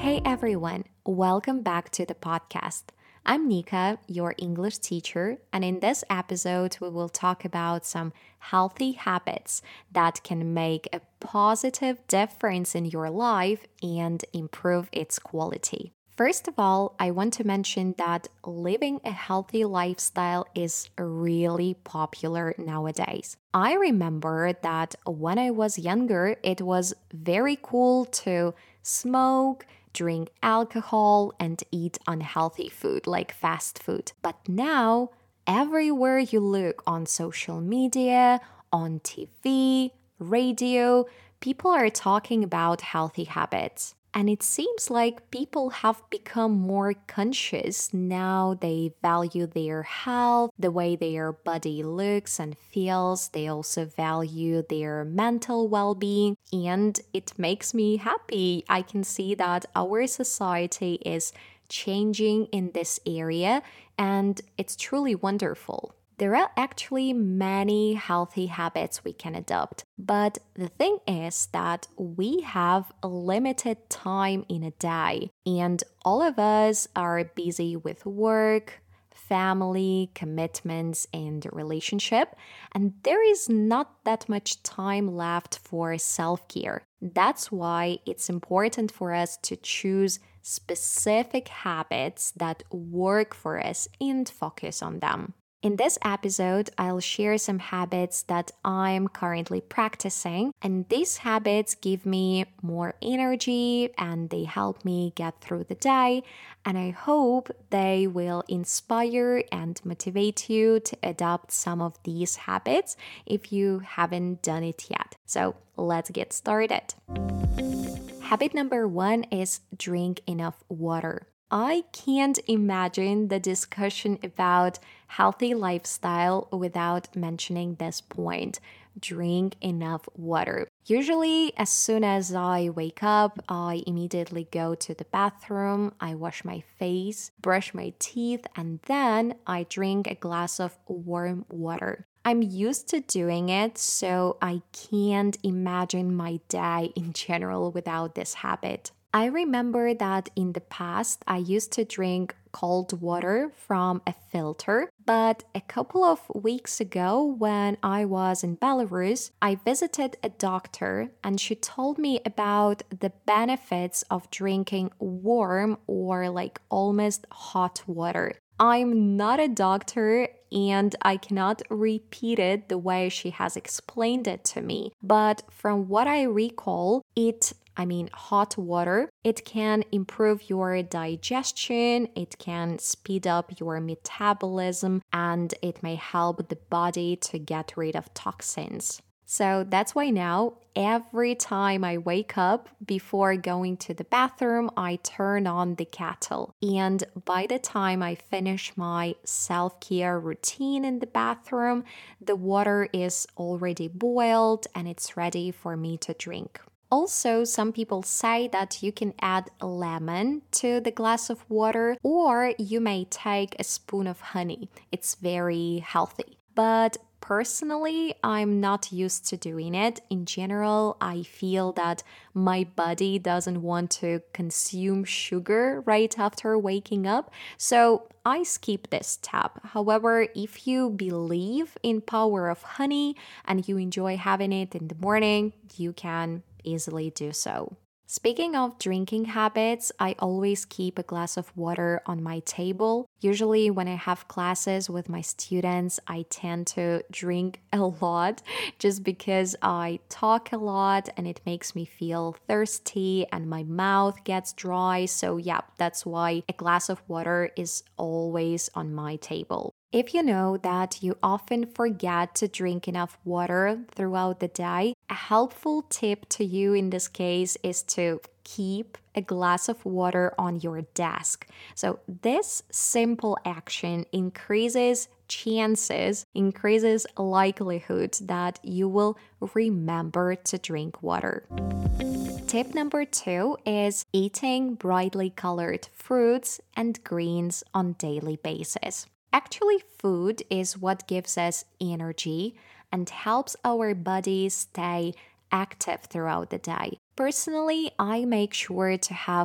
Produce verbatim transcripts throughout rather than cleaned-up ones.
Hey everyone, welcome back to the podcast. I'm Nika, your English teacher, and in this episode, we will talk about some healthy habits that can make a positive difference in your life and improve its quality. First of all, I want to mention that living a healthy lifestyle is really popular nowadays. I remember that when I was younger, it was very cool to smoke, drink alcohol, and eat unhealthy food like fast food. But now, everywhere you look on social media, on T V, radio, people are talking about healthy habits. And it seems like people have become more conscious now. They value their health, the way their body looks and feels. They also value their mental well being. And it makes me happy. I can see that our society is changing in this area, and it's truly wonderful. There are actually many healthy habits we can adopt, but the thing is that we have a limited time in a day, and all of us are busy with work, family, commitments, and relationship, and there is not that much time left for self-care. That's why it's important for us to choose specific habits that work for us and focus on them. In this episode, I'll share some habits that I'm currently practicing, and these habits give me more energy and they help me get through the day. And I hope they will inspire and motivate you to adopt some of these habits if you haven't done it yet. So let's get started. Habit number one is drink enough water. I can't imagine the discussion about healthy lifestyle without mentioning this point. Drink enough water. Usually, as soon as I wake up, I immediately go to the bathroom, I wash my face, brush my teeth, and then I drink a glass of warm water. I'm used to doing it, so I can't imagine my day in general without this habit. I remember that in the past, I used to drink cold water from a filter, but a couple of weeks ago, when I was in Belarus, I visited a doctor and she told me about the benefits of drinking warm or like almost hot water. I'm not a doctor and I cannot repeat it the way she has explained it to me, but from what I recall, it I mean, hot water, it can improve your digestion, it can speed up your metabolism, and it may help the body to get rid of toxins. So that's why now, every time I wake up, before going to the bathroom, I turn on the kettle. And by the time I finish my self-care routine in the bathroom, the water is already boiled and it's ready for me to drink. Also, some people say that you can add a lemon to the glass of water, or you may take a spoon of honey. It's very healthy. But personally, I'm not used to doing it. In general, I feel that my body doesn't want to consume sugar right after waking up, so I skip this step. However, if you believe in power of honey and you enjoy having it in the morning, you can easily do so. Speaking of drinking habits, I always keep a glass of water on my table. Usually when I have classes with my students, I tend to drink a lot just because I talk a lot and it makes me feel thirsty and my mouth gets dry. So yeah, that's why a glass of water is always on my table. If you know that you often forget to drink enough water throughout the day, a helpful tip to you in this case is to keep a glass of water on your desk. So this simple action increases chances, increases likelihood that you will remember to drink water. Tip number two is eating brightly colored fruits and greens on daily basis. Actually, food is what gives us energy and helps our bodies stay active throughout the day. Personally, I make sure to have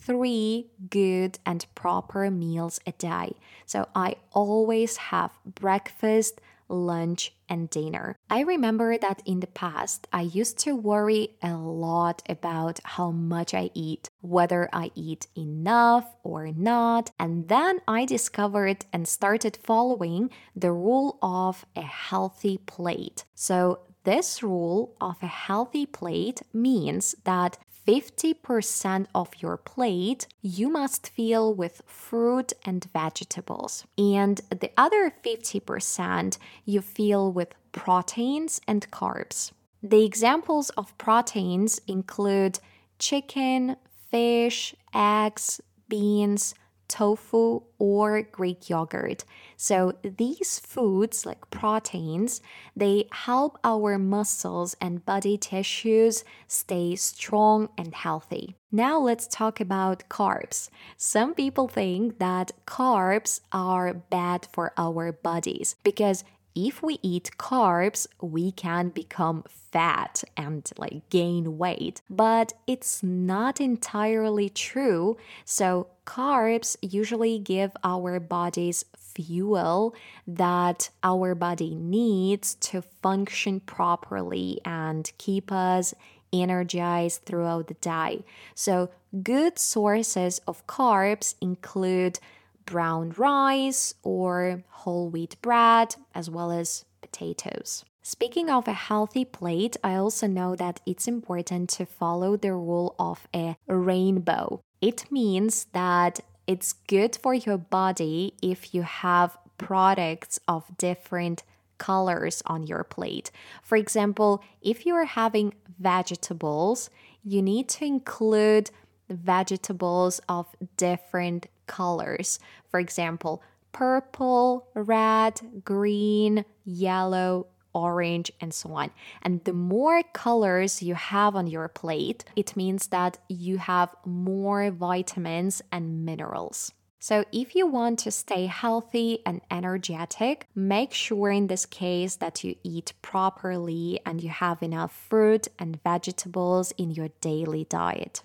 three good and proper meals a day. So I always have breakfast, lunch, and dinner. I remember that in the past, I used to worry a lot about how much I eat, whether I eat enough or not. And then I discovered and started following the rule of a healthy plate. So this rule of a healthy plate means that fifty percent of your plate you must fill with fruit and vegetables. And the other fifty percent you fill with proteins and carbs. The examples of proteins include chicken, fish, eggs, beans, tofu, or Greek yogurt. So these foods, like proteins, they help our muscles and body tissues stay strong and healthy. Now let's talk about carbs. Some people think that carbs are bad for our bodies because if we eat carbs, we can become fat and like gain weight. But it's not entirely true. So carbs usually give our bodies fuel that our body needs to function properly and keep us energized throughout the day. So good sources of carbs include brown rice or whole wheat bread, as well as potatoes. Speaking of a healthy plate, I also know that it's important to follow the rule of a rainbow. It means that it's good for your body if you have products of different colors on your plate. For example, if you are having vegetables, you need to include vegetables of different colors. For example, purple, red, green, yellow, orange, and so on. And the more colors you have on your plate, it means that you have more vitamins and minerals. So if you want to stay healthy and energetic, make sure in this case that you eat properly and you have enough fruit and vegetables in your daily diet.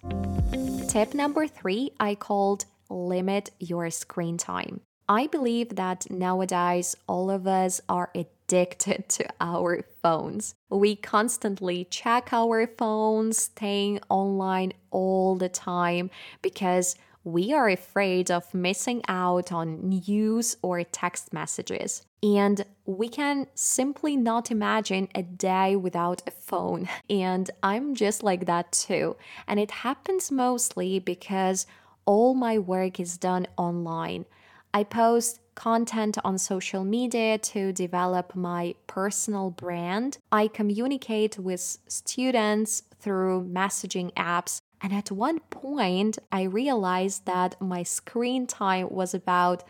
Tip number three, I called limit your screen time. I believe that nowadays all of us are addicted to our phones. We constantly check our phones, staying online all the time because we are afraid of missing out on news or text messages. And we can simply not imagine a day without a phone. And I'm just like that too. And it happens mostly because all my work is done online. I post content on social media to develop my personal brand. I communicate with students through messaging apps. And at one point, I realized that my screen time was about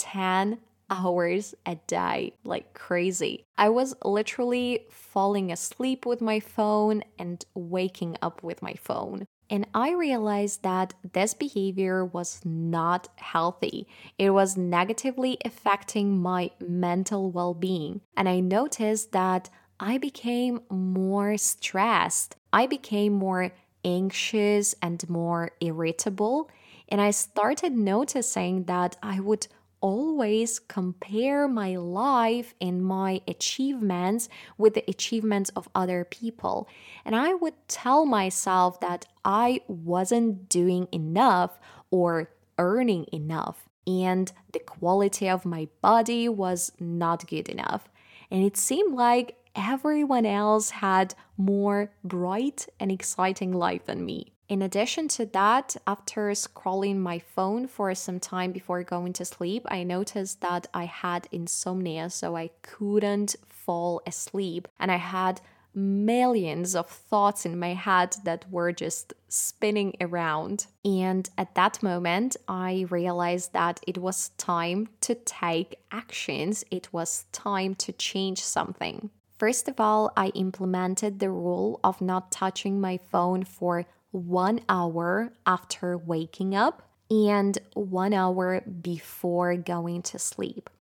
ten hours a day, like crazy. I was literally falling asleep with my phone and waking up with my phone. And I realized that this behavior was not healthy. It was negatively affecting my mental well-being. And I noticed that I became more stressed. I became more anxious and more irritable. And I started noticing that I would always compare my life and my achievements with the achievements of other people. And I would tell myself that I wasn't doing enough or earning enough, and the quality of my body was not good enough. And it seemed like everyone else had more bright and exciting life than me. In addition to that, after scrolling my phone for some time before going to sleep, I noticed that I had insomnia, so I couldn't fall asleep. And I had millions of thoughts in my head that were just spinning around. And at that moment, I realized that it was time to take actions. It was time to change something. First of all, I implemented the rule of not touching my phone for one hour after waking up and one hour before going to sleep.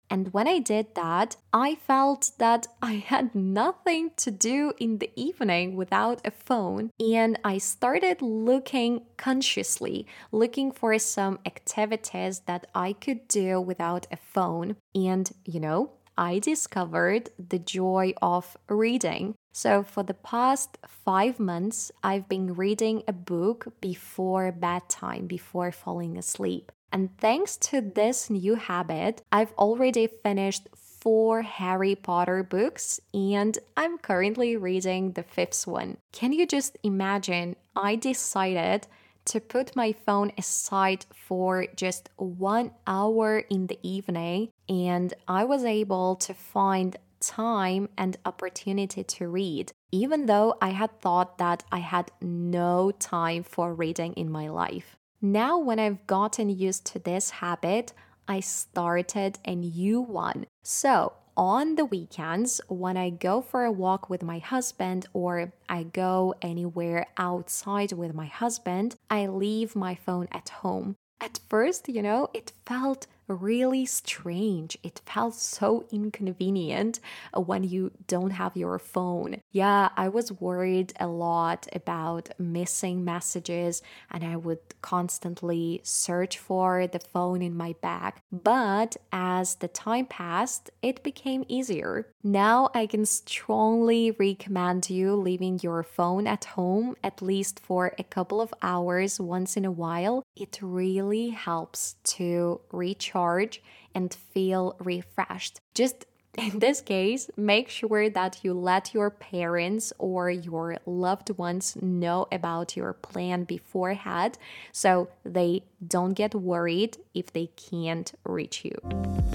And when I did that, I felt that I had nothing to do in the evening without a phone. And I started looking consciously, looking for some activities that I could do without a phone. And, you know, I discovered the joy of reading. So, for the past five months, I've been reading a book before bedtime, before falling asleep. And thanks to this new habit, I've already finished four Harry Potter books and I'm currently reading the fifth one. Can you just imagine? I decided to put my phone aside for just one hour in the evening, and I was able to find time and opportunity to read, even though I had thought that I had no time for reading in my life. Now, when I've gotten used to this habit, I started a new one. So, on the weekends, when I go for a walk with my husband or I go anywhere outside with my husband, I leave my phone at home. At first, you know, it felt really strange. It felt so inconvenient when you don't have your phone. Yeah, I was worried a lot about missing messages and I would constantly search for the phone in my bag. But as the time passed, it became easier. Now I can strongly recommend you leaving your phone at home at least for a couple of hours once in a while. It really helps to recharge and feel refreshed. Just in this case, make sure that you let your parents or your loved ones know about your plan beforehand so they don't get worried if they can't reach you.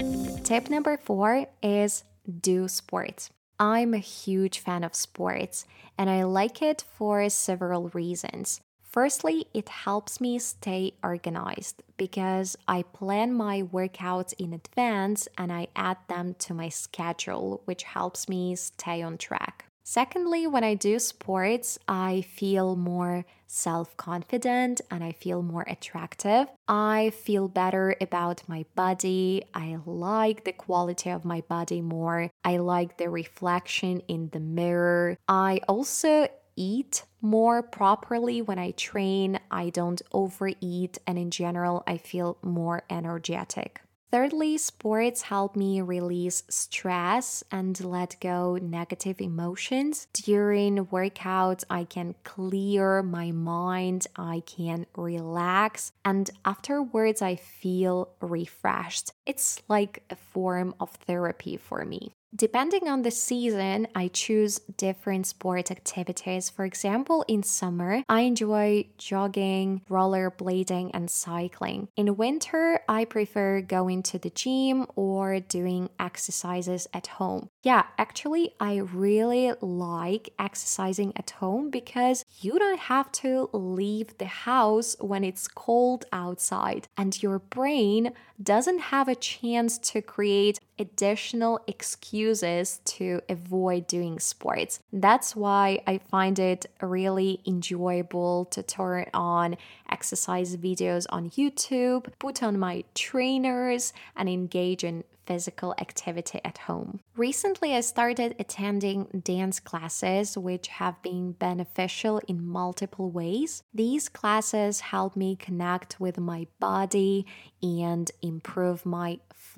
Tip number four is do sports. I'm a huge fan of sports and I like it for several reasons. Firstly, it helps me stay organized because I plan my workouts in advance and I add them to my schedule, which helps me stay on track. Secondly, when I do sports, I feel more self-confident and I feel more attractive. I feel better about my body. I like the quality of my body more. I like the reflection in the mirror. I also eat more properly when I train. I don't overeat, and in general, I feel more energetic. Thirdly, sports help me release stress and let go negative emotions. During workouts, I can clear my mind, I can relax, and afterwards I feel refreshed. It's like a form of therapy for me. Depending on the season, I choose different sport activities. For example, in summer, I enjoy jogging, rollerblading, and cycling. In winter, I prefer going to the gym or doing exercises at home. Yeah, actually, I really like exercising at home because you don't have to leave the house when it's cold outside, and your brain doesn't have a chance to create additional excuses to avoid doing sports. That's why I find it really enjoyable to turn on exercise videos on YouTube, put on my trainers, and engage in physical activity at home. Recently, I started attending dance classes, which have been beneficial in multiple ways. These classes help me connect with my body and improve my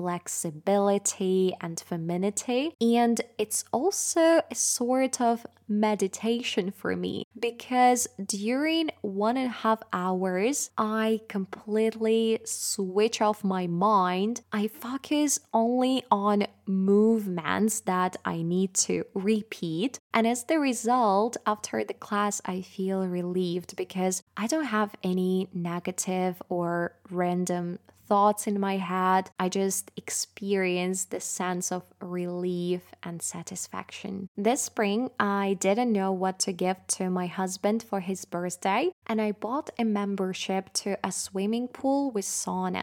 flexibility and femininity. And it's also a sort of meditation for me because during one and a half hours, I completely switch off my mind. I focus only on movements that I need to repeat. And as the result, after the class, I feel relieved because I don't have any negative or random thoughts in my head. I just experience the sense of relief and satisfaction. This spring, I didn't know what to give to my husband for his birthday, and I bought a membership to a swimming pool with saunas.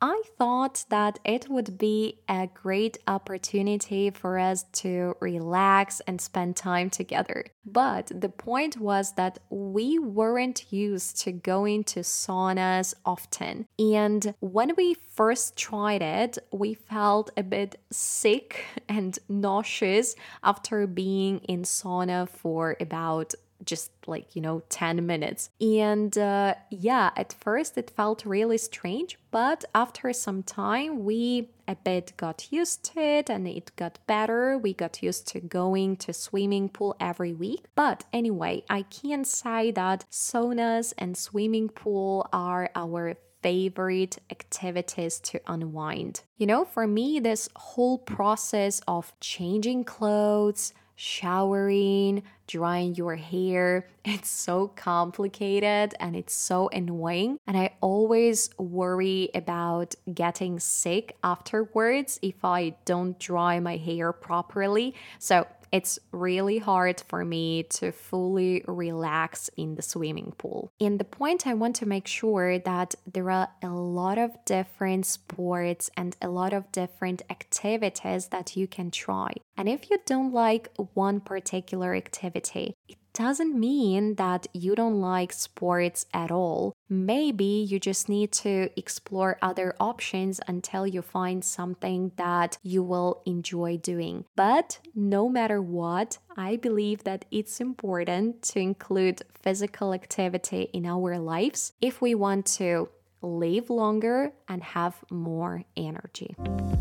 I thought that it would be a great opportunity for us to relax and spend time together. But the point was that we weren't used to going to saunas often. And when we first tried it, we felt a bit sick and nauseous after being in sauna for about just like, you know, ten minutes. And uh, yeah, at first it felt really strange, but after some time, we a bit got used to it and it got better. We got used to going to swimming pool every week. But anyway, I can say that saunas and swimming pool are our favorite activities to unwind. You know, for me, this whole process of changing clothes, showering, drying your hair, it's so complicated and it's so annoying. And I always worry about getting sick afterwards if I don't dry my hair properly. So it's really hard for me to fully relax in the swimming pool. And the point I want to make sure that there are a lot of different sports and a lot of different activities that you can try. And if you don't like one particular activity, it doesn't mean that you don't like sports at all. Maybe you just need to explore other options until you find something that you will enjoy doing. But no matter what, I believe that it's important to include physical activity in our lives if we want to live longer and have more energy.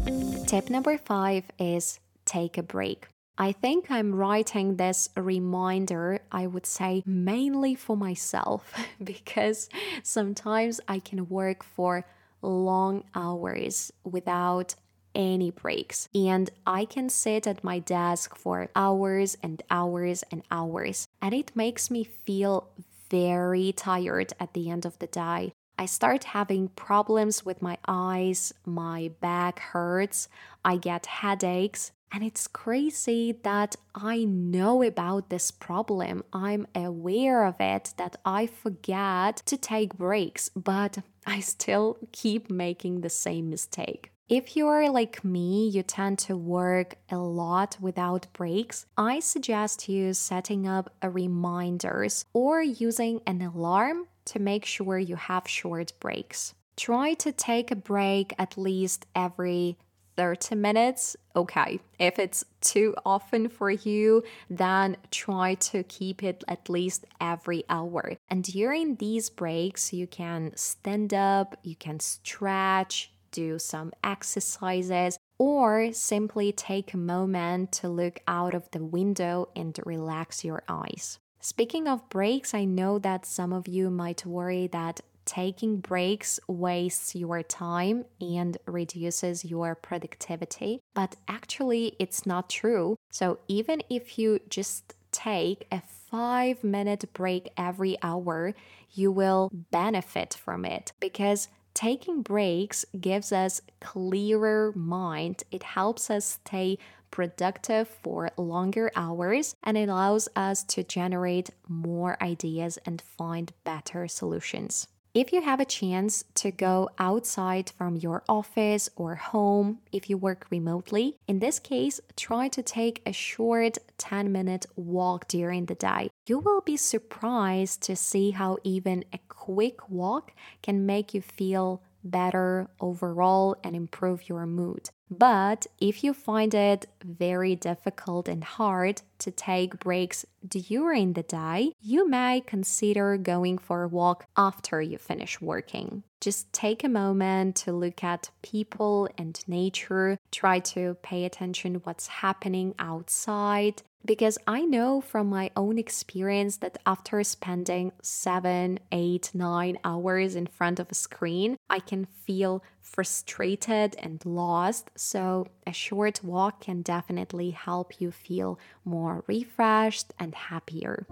Tip number five is take a break. I think I'm writing this reminder, I would say, mainly for myself because sometimes I can work for long hours without any breaks. And I can sit at my desk for hours and hours and hours. And it makes me feel very tired at the end of the day. I start having problems with my eyes, my back hurts, I get headaches. And it's crazy that I know about this problem. I'm aware of it, that I forget to take breaks, but I still keep making the same mistake. If you're like me, you tend to work a lot without breaks, I suggest you setting up a reminders or using an alarm to make sure you have short breaks. Try to take a break at least every thirty minutes. Okay, if it's too often for you, then try to keep it at least every hour. And during these breaks, you can stand up, you can stretch, do some exercises, or simply take a moment to look out of the window and relax your eyes. Speaking of breaks, I know that some of you might worry that taking breaks wastes your time and reduces your productivity, but actually it's not true. So even if you just take a five minute break every hour, you will benefit from it because taking breaks gives us clearer mind. It helps us stay productive for longer hours and it allows us to generate more ideas and find better solutions. If you have a chance to go outside from your office or home, if you work remotely, in this case, try to take a short ten minute walk during the day. You will be surprised to see how even a quick walk can make you feel better overall and improve your mood. But if you find it very difficult and hard to take breaks during the day, you may consider going for a walk after you finish working. Just take a moment to look at people and nature, try to pay attention what's happening outside. Because I know from my own experience that after spending seven, eight, nine hours in front of a screen, I can feel frustrated and lost. So a short walk can definitely help you feel more refreshed and happier.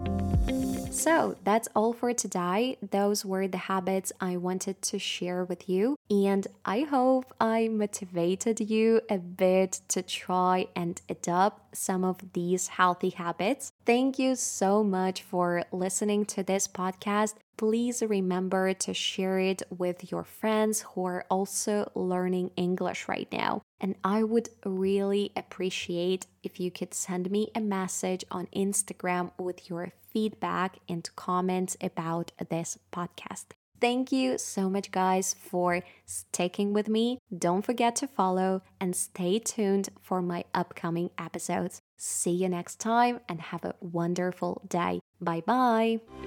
So that's all for today. Those were the habits I wanted to share with you. And I hope I motivated you a bit to try and adopt some of these healthy habits. Thank you so much for listening to this podcast. please remember to share it with your friends who are also learning English right now. And I would really appreciate if you could send me a message on Instagram with your feedback and comments about this podcast. Thank you so much, guys, for sticking with me. Don't forget to follow and stay tuned for my upcoming episodes. See you next time and have a wonderful day. Bye bye.